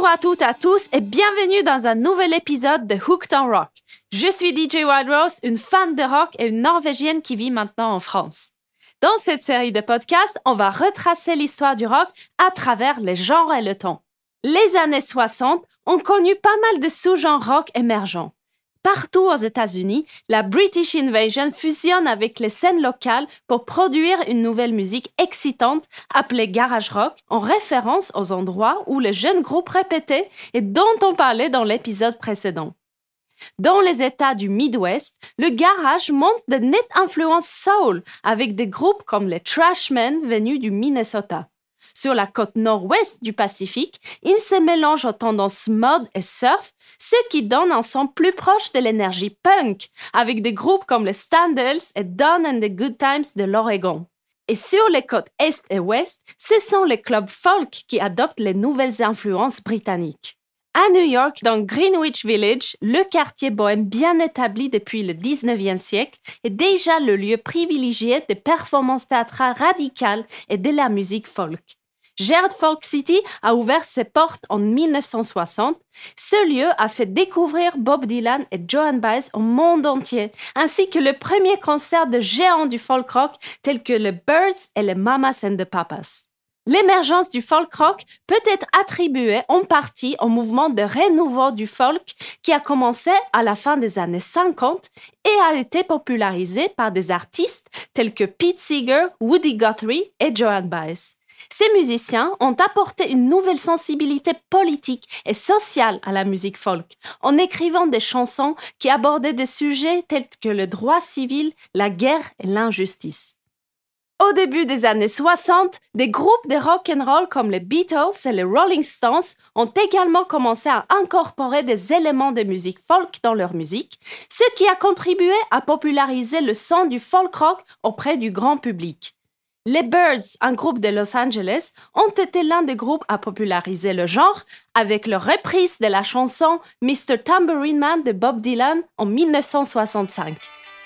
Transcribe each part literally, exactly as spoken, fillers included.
Bonjour à toutes et à tous et bienvenue dans un nouvel épisode de Hooked on Rock. Je suis D J Wild Rose, une fan de rock et une Norvégienne qui vit maintenant en France. Dans cette série de podcasts, on va retracer l'histoire du rock à travers les genres et le temps. Les années soixante ont connu pas mal de sous-genres rock émergents. Partout aux États-Unis, la British Invasion fusionne avec les scènes locales pour produire une nouvelle musique excitante appelée garage rock, en référence aux endroits où les jeunes groupes répétaient et dont on parlait dans l'épisode précédent. Dans les États du Midwest, le garage montre de nettes influences soul avec des groupes comme les Trashmen venus du Minnesota. Sur la côte nord-ouest du Pacifique, ils se mélangent aux tendances mode et surf, ce qui donne un son plus proche de l'énergie punk, avec des groupes comme les Standards et Dawn and the Good Times de l'Oregon. Et sur les côtes est et ouest, ce sont les clubs folk qui adoptent les nouvelles influences britanniques. À New York, dans Greenwich Village, le quartier bohème bien établi depuis le dix-neuvième siècle est déjà le lieu privilégié des performances théâtrales radicales et de la musique folk. Gerd Folk City a ouvert ses portes en dix-neuf cent soixante. Ce lieu a fait découvrir Bob Dylan et Joan Baez au monde entier, ainsi que le premier concert de géants du folk rock tels que les Byrds et les Mamas and the Papas. L'émergence du folk rock peut être attribuée en partie au mouvement de renouveau du folk qui a commencé à la fin des années cinquante et a été popularisé par des artistes tels que Pete Seeger, Woody Guthrie et Joan Baez. Ces musiciens ont apporté une nouvelle sensibilité politique et sociale à la musique folk, en écrivant des chansons qui abordaient des sujets tels que le droit civil, la guerre et l'injustice. Au début des années soixante, des groupes de rock and roll comme les Beatles et les Rolling Stones ont également commencé à incorporer des éléments de musique folk dans leur musique, ce qui a contribué à populariser le son du folk rock auprès du grand public. Les Byrds, un groupe de Los Angeles, ont été l'un des groupes à populariser le genre avec leur reprise de la chanson mister Tambourine Man de Bob Dylan en dix-neuf cent soixante-cinq.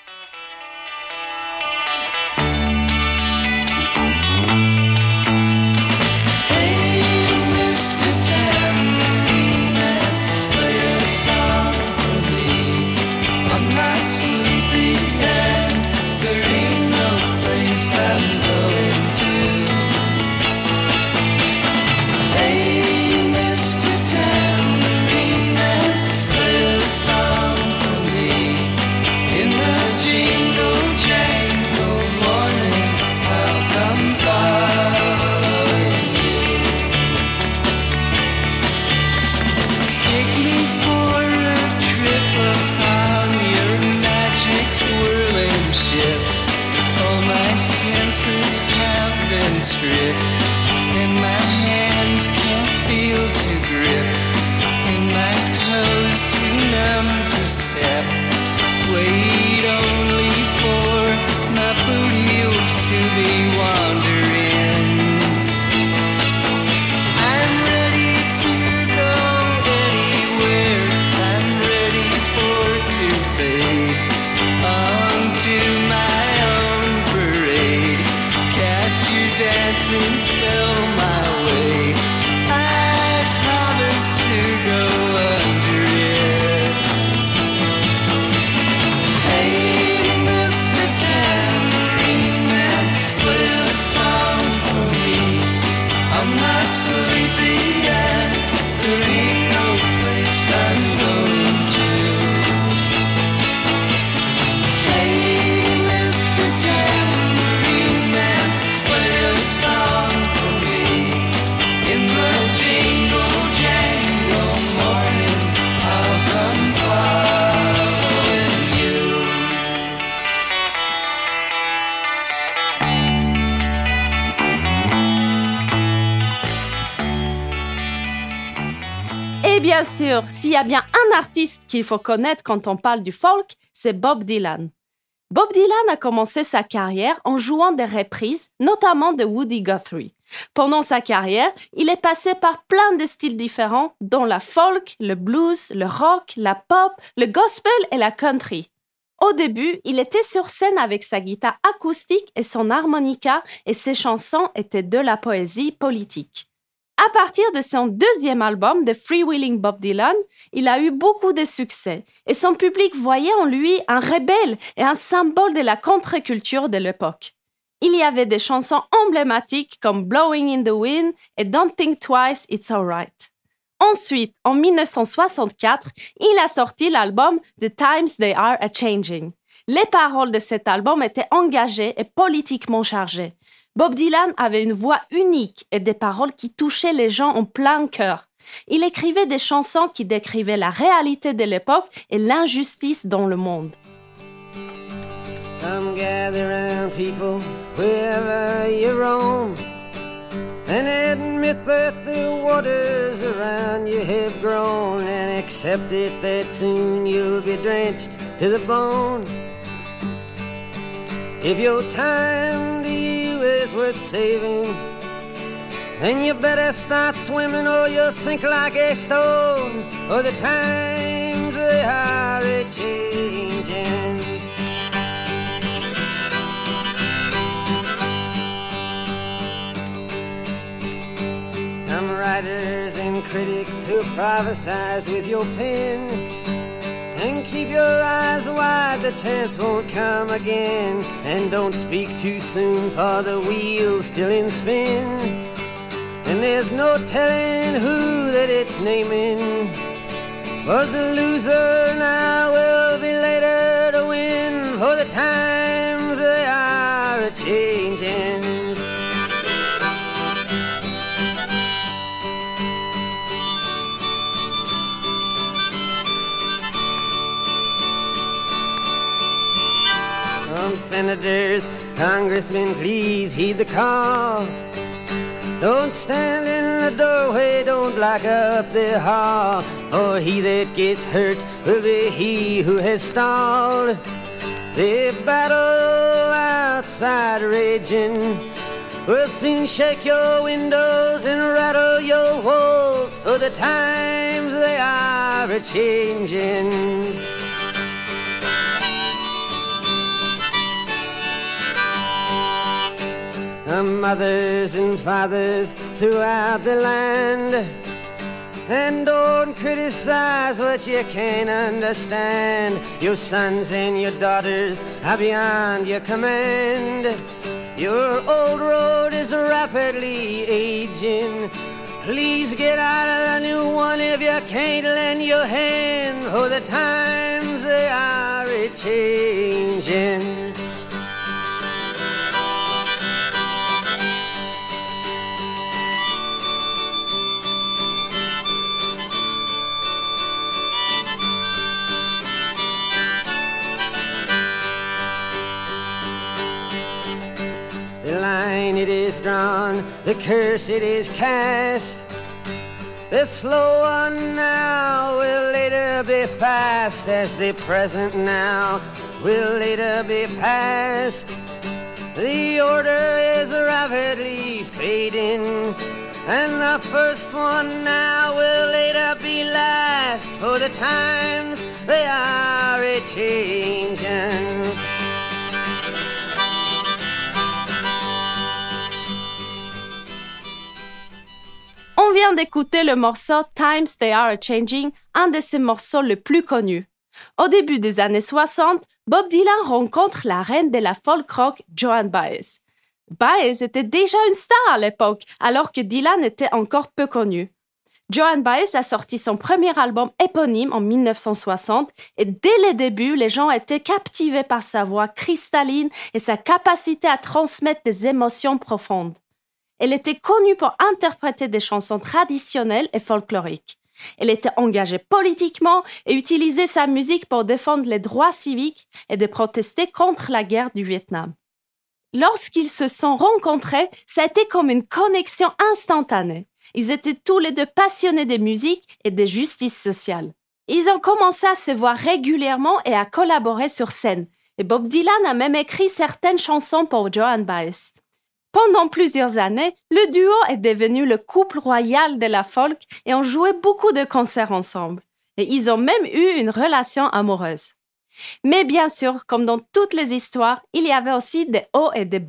Et bien sûr, s'il y a bien un artiste qu'il faut connaître quand on parle du folk, c'est Bob Dylan. Bob Dylan a commencé sa carrière en jouant des reprises, notamment de Woody Guthrie. Pendant sa carrière, il est passé par plein de styles différents, dont la folk, le blues, le rock, la pop, le gospel et la country. Au début, il était sur scène avec sa guitare acoustique et son harmonica, et ses chansons étaient de la poésie politique. À partir de son deuxième album, The Freewheeling Bob Dylan, il a eu beaucoup de succès et son public voyait en lui un rebelle et un symbole de la contre-culture de l'époque. Il y avait des chansons emblématiques comme Blowing in the Wind et Don't Think Twice, It's Alright. Ensuite, en dix-neuf cent soixante-quatre, il a sorti l'album The Times They Are A-Changing. Les paroles de cet album étaient engagées et politiquement chargées. Bob Dylan avait une voix unique et des paroles qui touchaient les gens en plein cœur. Il écrivait des chansons qui décrivaient la réalité de l'époque et l'injustice dans le monde. Come gather round people wherever you roam and admit that the waters around you have grown and accept it that soon you'll be drenched to the bone. If your time to you is worth saving, then you better start swimming or you'll sink like a stone, for the times they are a-changing. Some writers and critics who prophesize with your pen, and keep your eyes wide, the chance won't come again. And don't speak too soon, for the wheel's still in spin, and there's no telling who that it's naming. Was the loser now will be later to win, for the times they are a-changing. Senators, congressmen, please heed the call. Don't stand in the doorway, don't block up the hall, for he that gets hurt will be he who has stalled. The battle outside raging will soon shake your windows and rattle your walls, for the times they are a-changing. Mothers and fathers throughout the land, and don't criticize what you can't understand. Your sons and your daughters are beyond your command. Your old road is rapidly aging. Please get out of the new one if you can't lend your hand, for the times they are a-changing. The line it is drawn, the curse it is cast. The slow one now will later be fast, as the present now will later be past. The order is rapidly fading, and the first one now will later be last, for the times they are a-changing. On vient d'écouter le morceau Times They Are A-Changing, un de ses morceaux les plus connus. Au début des années soixante, Bob Dylan rencontre la reine de la folk rock, Joan Baez. Baez était déjà une star à l'époque, alors que Dylan était encore peu connu. Joan Baez a sorti son premier album éponyme en dix-neuf cent soixante et dès le début, les gens étaient captivés par sa voix cristalline et sa capacité à transmettre des émotions profondes. Elle était connue pour interpréter des chansons traditionnelles et folkloriques. Elle était engagée politiquement et utilisait sa musique pour défendre les droits civiques et de protester contre la guerre du Vietnam. Lorsqu'ils se sont rencontrés, ça a été comme une connexion instantanée. Ils étaient tous les deux passionnés de musique et de justice sociale. Ils ont commencé à se voir régulièrement et à collaborer sur scène. Et Bob Dylan a même écrit certaines chansons pour Joan Baez. Pendant plusieurs années, le duo est devenu le couple royal de la folk et ont joué beaucoup de concerts ensemble. Et ils ont même eu une relation amoureuse. Mais bien sûr, comme dans toutes les histoires, il y avait aussi des hauts et des bas.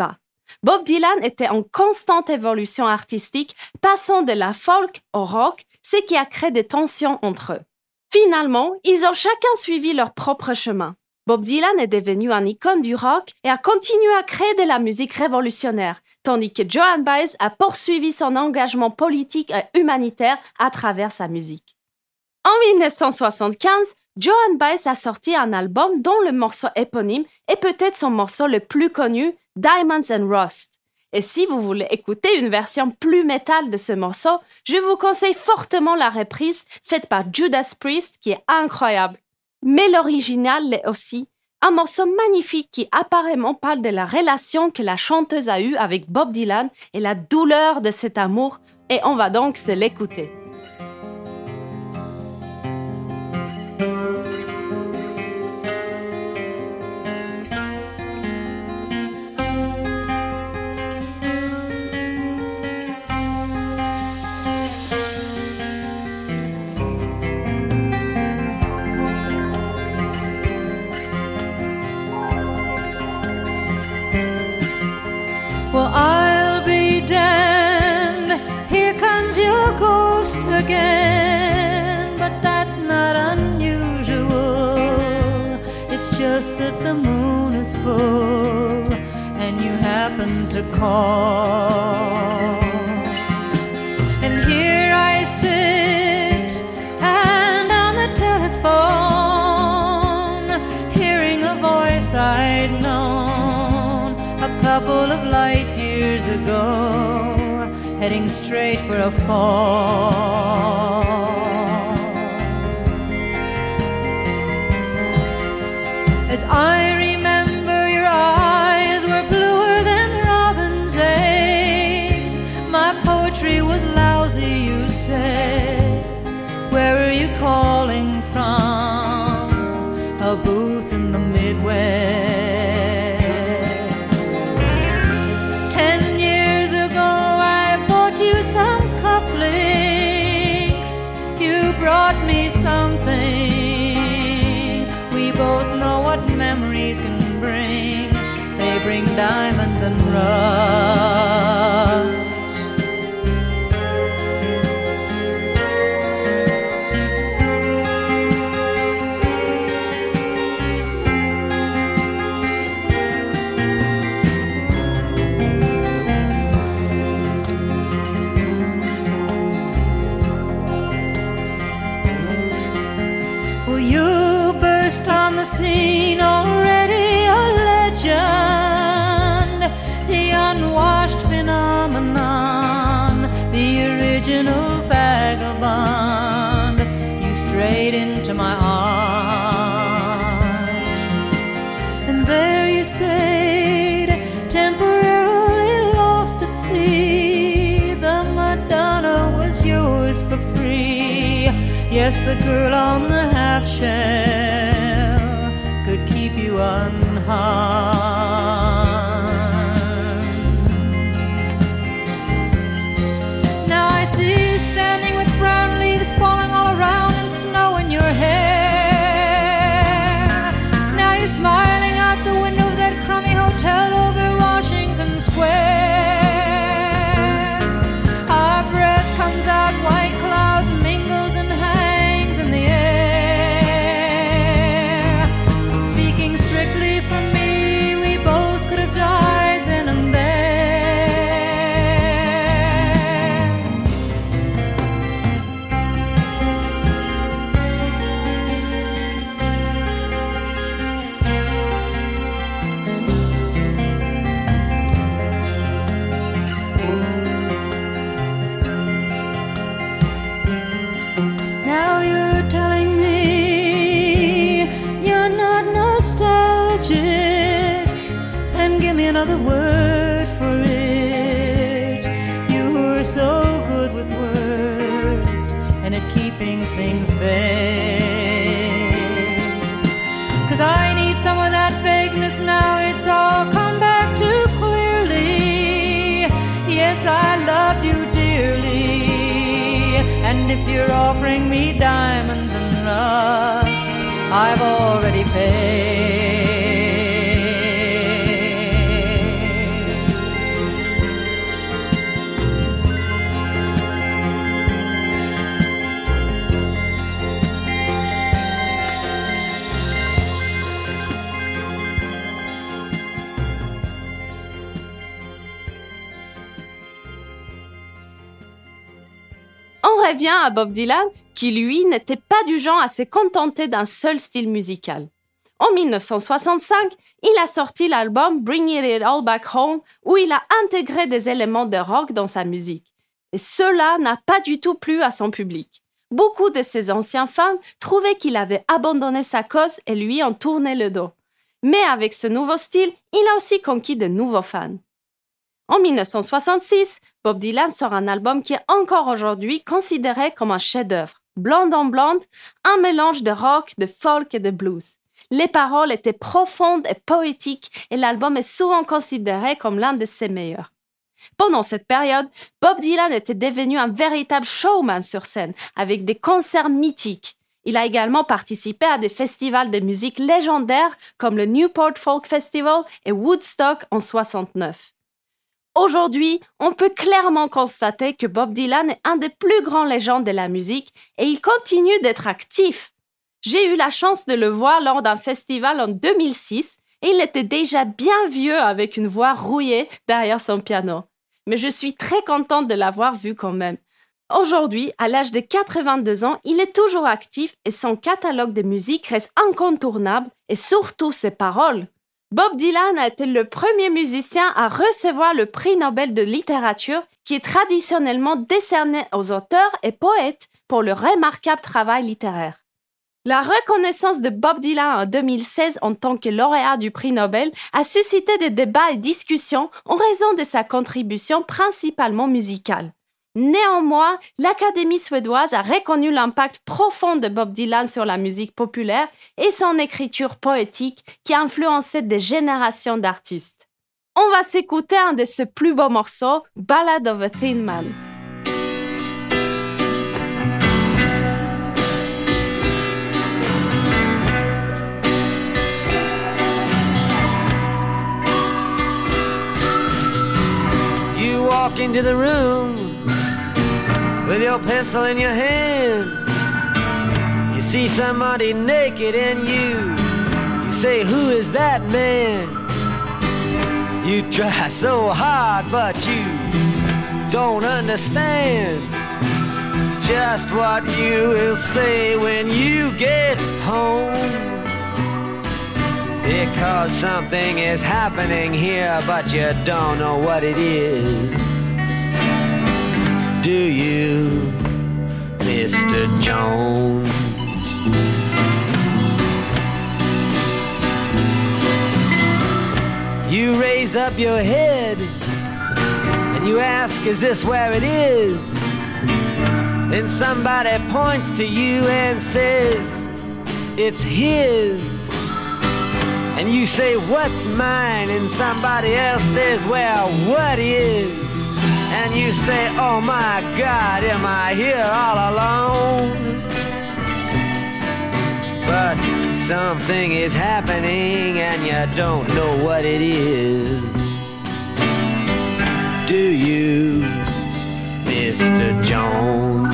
Bob Dylan était en constante évolution artistique, passant de la folk au rock, ce qui a créé des tensions entre eux. Finalement, ils ont chacun suivi leur propre chemin. Bob Dylan est devenu une icône du rock et a continué à créer de la musique révolutionnaire, tandis que Joan Baez a poursuivi son engagement politique et humanitaire à travers sa musique. En dix-neuf cent soixante-quinze, Joan Baez a sorti un album dont le morceau éponyme est peut-être son morceau le plus connu, Diamonds and Rust. Et si vous voulez écouter une version plus métal de ce morceau, je vous conseille fortement la reprise faite par Judas Priest qui est incroyable. Mais l'original l'est aussi, un morceau magnifique qui apparemment parle de la relation que la chanteuse a eue avec Bob Dylan et la douleur de cet amour, et on va donc se l'écouter. Well, I'll be damned, here comes your ghost again. But that's not unusual, it's just that the moon is full and you happen to call. And here I sit, and on the telephone, hearing a voice I'd known a couple of light years ago, heading straight for a fall. As I remember, your eyes were bluer than robin's eggs. My poetry was lousy, you said. Where are you calling from? A booth in the Midwest. Brought me something. We both know what memories can bring. They bring diamonds and rust. On the scene, already a legend, the unwashed phenomenon, the original vagabond. You strayed into my arms, and there you stayed, temporarily lost at sea. The Madonna was yours for free. Yes, the girl on the half shell could keep you unharmed. Now I see you standing with brown leaves falling all around and snow in your hair. Now you're smiling out the window of that crummy hotel over Washington Square. Our breath comes out, white clouds mingles and hangs in the air. Strictly for me, we both could have died then and there. Now you're telling me you're not nostalgic, then give me another word for it. You were so good with words and at keeping things vague. Cause I need some of that vagueness now, it's all come back too clearly. Yes, I loved you dearly, and if you're offering me diamonds and rust, I've already paid. revient à Bob Dylan, qui lui n'était pas du genre à se contenter d'un seul style musical. En dix-neuf cent soixante-cinq, il a sorti l'album Bringing It All Back Home, où il a intégré des éléments de rock dans sa musique. Et cela n'a pas du tout plu à son public. Beaucoup de ses anciens fans trouvaient qu'il avait abandonné sa cause et lui en tourné le dos. Mais avec ce nouveau style, il a aussi conquis de nouveaux fans. En dix-neuf cent soixante-six, Bob Dylan sort un album qui est encore aujourd'hui considéré comme un chef-d'œuvre. Blonde on Blonde, un mélange de rock, de folk et de blues. Les paroles étaient profondes et poétiques et l'album est souvent considéré comme l'un de ses meilleurs. Pendant cette période, Bob Dylan était devenu un véritable showman sur scène, avec des concerts mythiques. Il a également participé à des festivals de musique légendaires comme le Newport Folk Festival et Woodstock en soixante-neuf. Aujourd'hui, on peut clairement constater que Bob Dylan est un des plus grands légendes de la musique et il continue d'être actif. J'ai eu la chance de le voir lors d'un festival en deux mille six et il était déjà bien vieux avec une voix rouillée derrière son piano. Mais je suis très contente de l'avoir vu quand même. Aujourd'hui, à l'âge de quatre-vingt-deux ans, il est toujours actif et son catalogue de musique reste incontournable et surtout ses paroles. Bob Dylan a été le premier musicien à recevoir le prix Nobel de littérature qui est traditionnellement décerné aux auteurs et poètes pour leur remarquable travail littéraire. La reconnaissance de Bob Dylan en deux mille seize en tant que lauréat du prix Nobel a suscité des débats et discussions en raison de sa contribution principalement musicale. Néanmoins, l'Académie suédoise a reconnu l'impact profond de Bob Dylan sur la musique populaire et son écriture poétique qui a influencé des générations d'artistes. On va s'écouter un de ses plus beaux morceaux, Ballad of a Thin Man. You walk into the room with your pencil in your hand. You see somebody naked and you, you say, who is that man? You try so hard but you don't understand just what you will say when you get home. Because something is happening here but you don't know what it is. Do you, Mister Jones? You raise up your head and you ask, is this where it is? Then somebody points to you and says, it's his. And you say, what's mine? And somebody else says, well, what is? And you say, oh my God, am I here all alone? But something is happening and you don't know what it is. Do you, Mister Jones?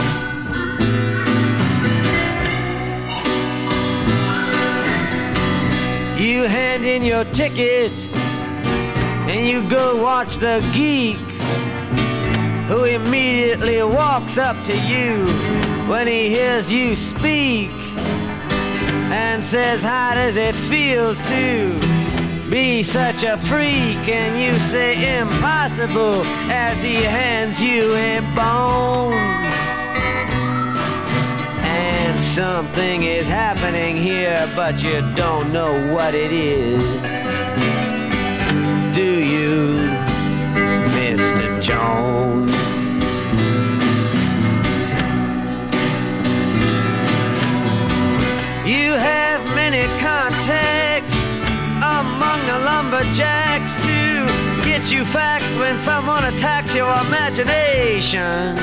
You hand in your ticket and you go watch the geek, who immediately walks up to you when he hears you speak and says, how does it feel to be such a freak? And you say, impossible, as he hands you a bone. And something is happening here but you don't know what it is. Do you, Mister Jones? You have many contacts among the lumberjacks to get you facts when someone attacks your imagination.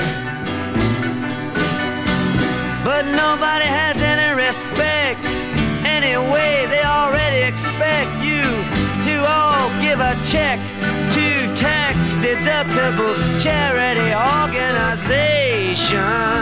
But nobody has any respect. Anyway, they already expect you to all give a check to tax-deductible charity organizations.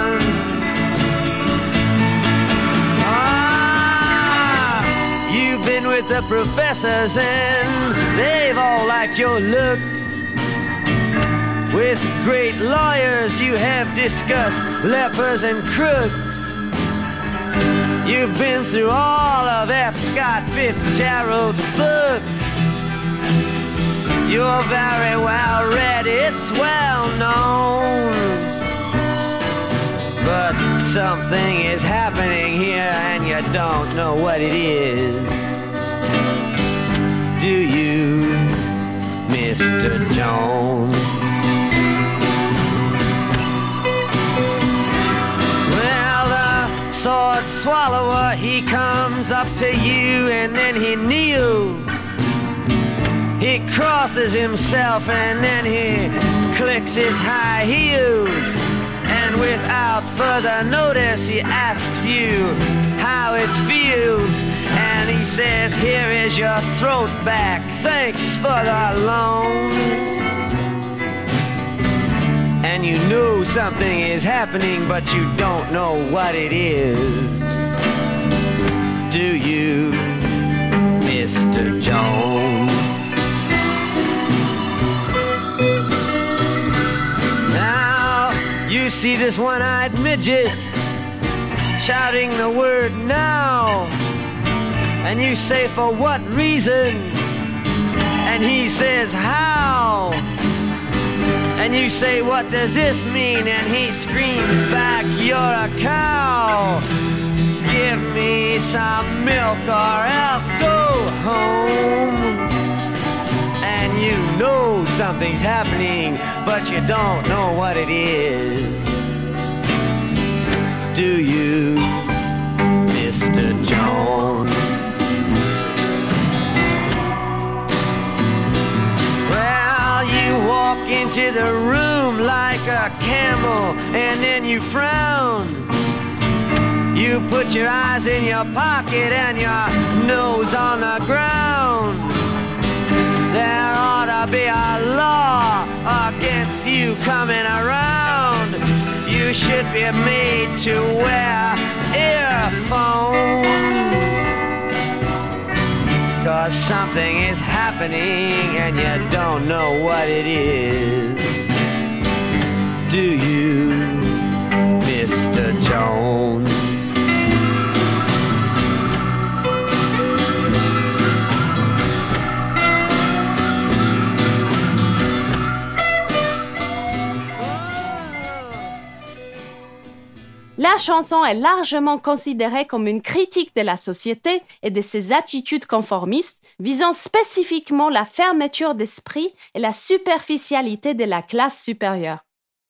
Ah, you've been with the professors and they've all liked your looks. With great lawyers you have discussed lepers and crooks. You've been through all of F. Scott Fitzgerald's books. You're very well read, it's well known. But something is happening here and you don't know what it is. Do you, Mister Jones? Well, the sword swallower, he comes up to you and then he kneels. He crosses himself and then he clicks his high heels. And without further notice, he asks you how it feels. And he says, here is your throat back, thanks for the loan. And you know something is happening, but you don't know what it is. Do you, Mister Jones? You see this one-eyed midget shouting the word now, and you say, for what reason? And he says, how? And you say, what does this mean? And he screams back, you're a cow. Give me some milk or else go home. And you know something's happening, but you don't know what it is. Do you, Mister Jones? Well, you walk into the room like a camel, and then you frown. You put your eyes in your pocket and your nose on the ground. There ought to be a law against you coming around. You should be made to wear earphones. 'Cause something is happening and you don't know what it is. Do you, Mister Jones? La chanson est largement considérée comme une critique de la société et de ses attitudes conformistes, visant spécifiquement la fermeture d'esprit et la superficialité de la classe supérieure.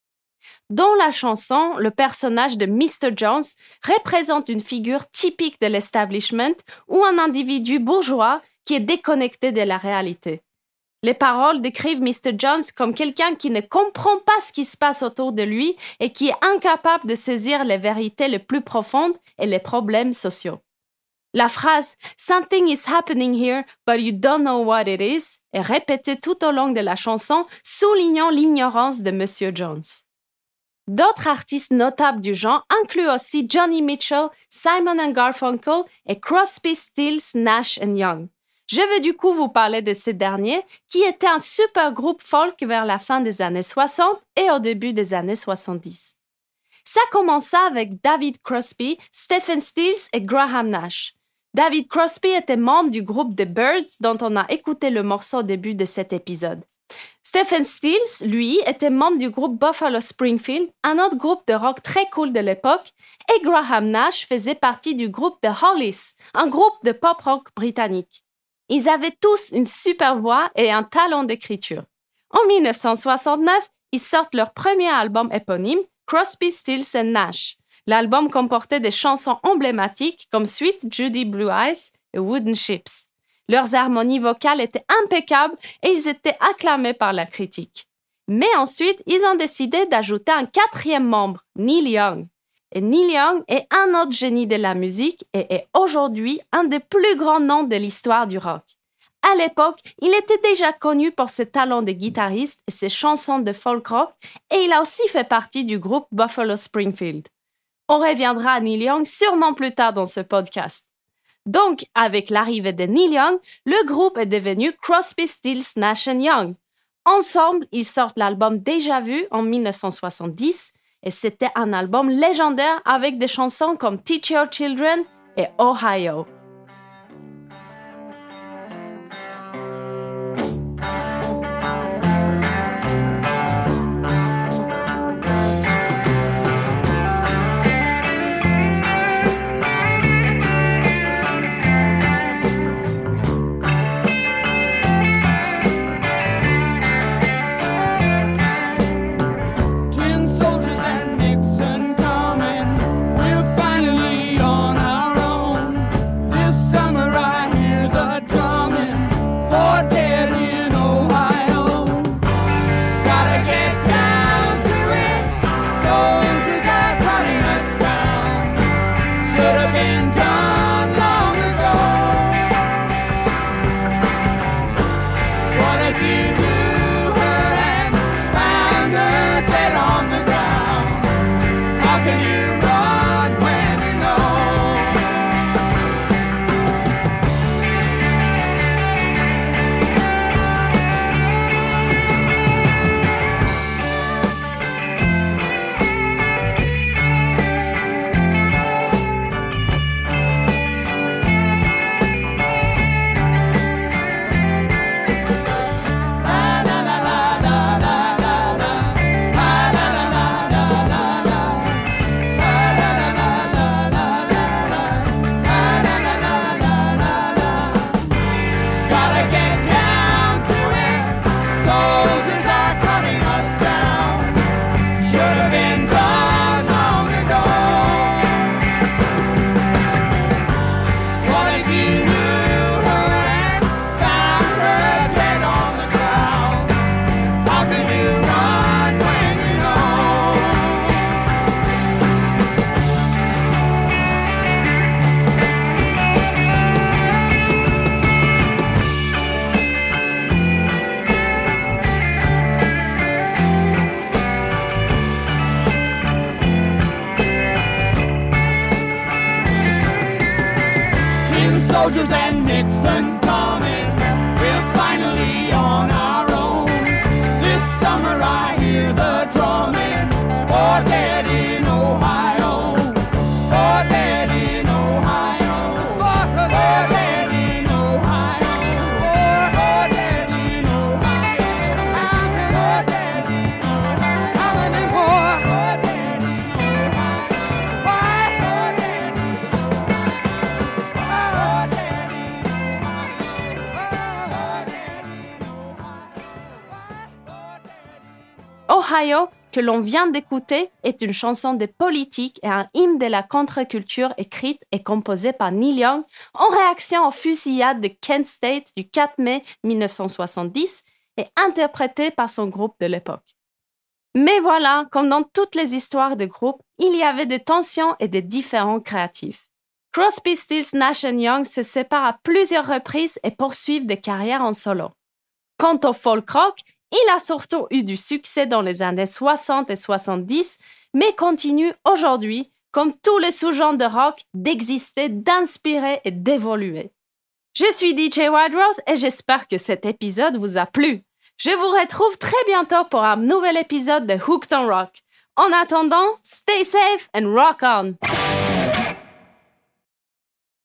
Dans la chanson, le personnage de Mister Jones représente une figure typique de l'establishment ou un individu bourgeois qui est déconnecté de la réalité. Les paroles décrivent Mister Jones comme quelqu'un qui ne comprend pas ce qui se passe autour de lui et qui est incapable de saisir les vérités les plus profondes et les problèmes sociaux. La phrase « Something is happening here, but you don't know what it is » est répétée tout au long de la chanson, soulignant l'ignorance de Monsieur Jones. D'autres artistes notables du genre incluent aussi Johnny Mitchell, Simon and Garfunkel et Crosby, Stills, Nash and Young. Je veux du coup vous parler de ces derniers, qui étaient un super groupe folk vers la fin des années soixante et au début des années soixante-dix. Ça commença avec David Crosby, Stephen Stills et Graham Nash. David Crosby était membre du groupe The Byrds dont on a écouté le morceau au début de cet épisode. Stephen Stills, lui, était membre du groupe Buffalo Springfield, un autre groupe de rock très cool de l'époque, et Graham Nash faisait partie du groupe The Hollies, un groupe de pop-rock britannique. Ils avaient tous une super voix et un talent d'écriture. En dix-neuf cent soixante-neuf, ils sortent leur premier album éponyme, Crosby, Stills and Nash. L'album comportait des chansons emblématiques comme Sweet Judy Blue Eyes et Wooden Ships. Leurs harmonies vocales étaient impeccables et ils étaient acclamés par la critique. Mais ensuite, ils ont décidé d'ajouter un quatrième membre, Neil Young. Et Neil Young est un autre génie de la musique et est aujourd'hui un des plus grands noms de l'histoire du rock. À l'époque, il était déjà connu pour ses talents de guitariste et ses chansons de folk rock et il a aussi fait partie du groupe Buffalo Springfield. On reviendra à Neil Young sûrement plus tard dans ce podcast. Donc, avec l'arrivée de Neil Young, le groupe est devenu Crosby, Stills, Nash and Young. Ensemble, ils sortent l'album Déjà Vu en dix-neuf cent soixante-dix et c'était un album légendaire avec des chansons comme Teach Your Children et Ohio. Soldiers and Nixon's coming. We're finally on our own. This summer I hear the drumming. For dead in Ohio. For dead in Ohio. For dead in Ohio. For dead in Ohio. For dead in Ohio. How many more? For dead in Ohio. Why? For dead in Ohio, que l'on vient d'écouter, est une chanson de politique et un hymne de la contre-culture écrite et composée par Neil Young en réaction aux fusillades de Kent State du quatre mai dix-neuf cent soixante-dix et interprétée par son groupe de l'époque. Mais voilà, comme dans toutes les histoires de groupes, il y avait des tensions et des différends créatifs. Crosby, Stills, Nash and Young se séparent à plusieurs reprises et poursuivent des carrières en solo. Quant au folk rock, il a surtout eu du succès dans les années soixante et soixante-dix, mais continue aujourd'hui, comme tous les sous-genres de rock, d'exister, d'inspirer et d'évoluer. Je suis D J Wild Rose et j'espère que cet épisode vous a plu. Je vous retrouve très bientôt pour un nouvel épisode de Hooked on Rock. En attendant, stay safe and rock on!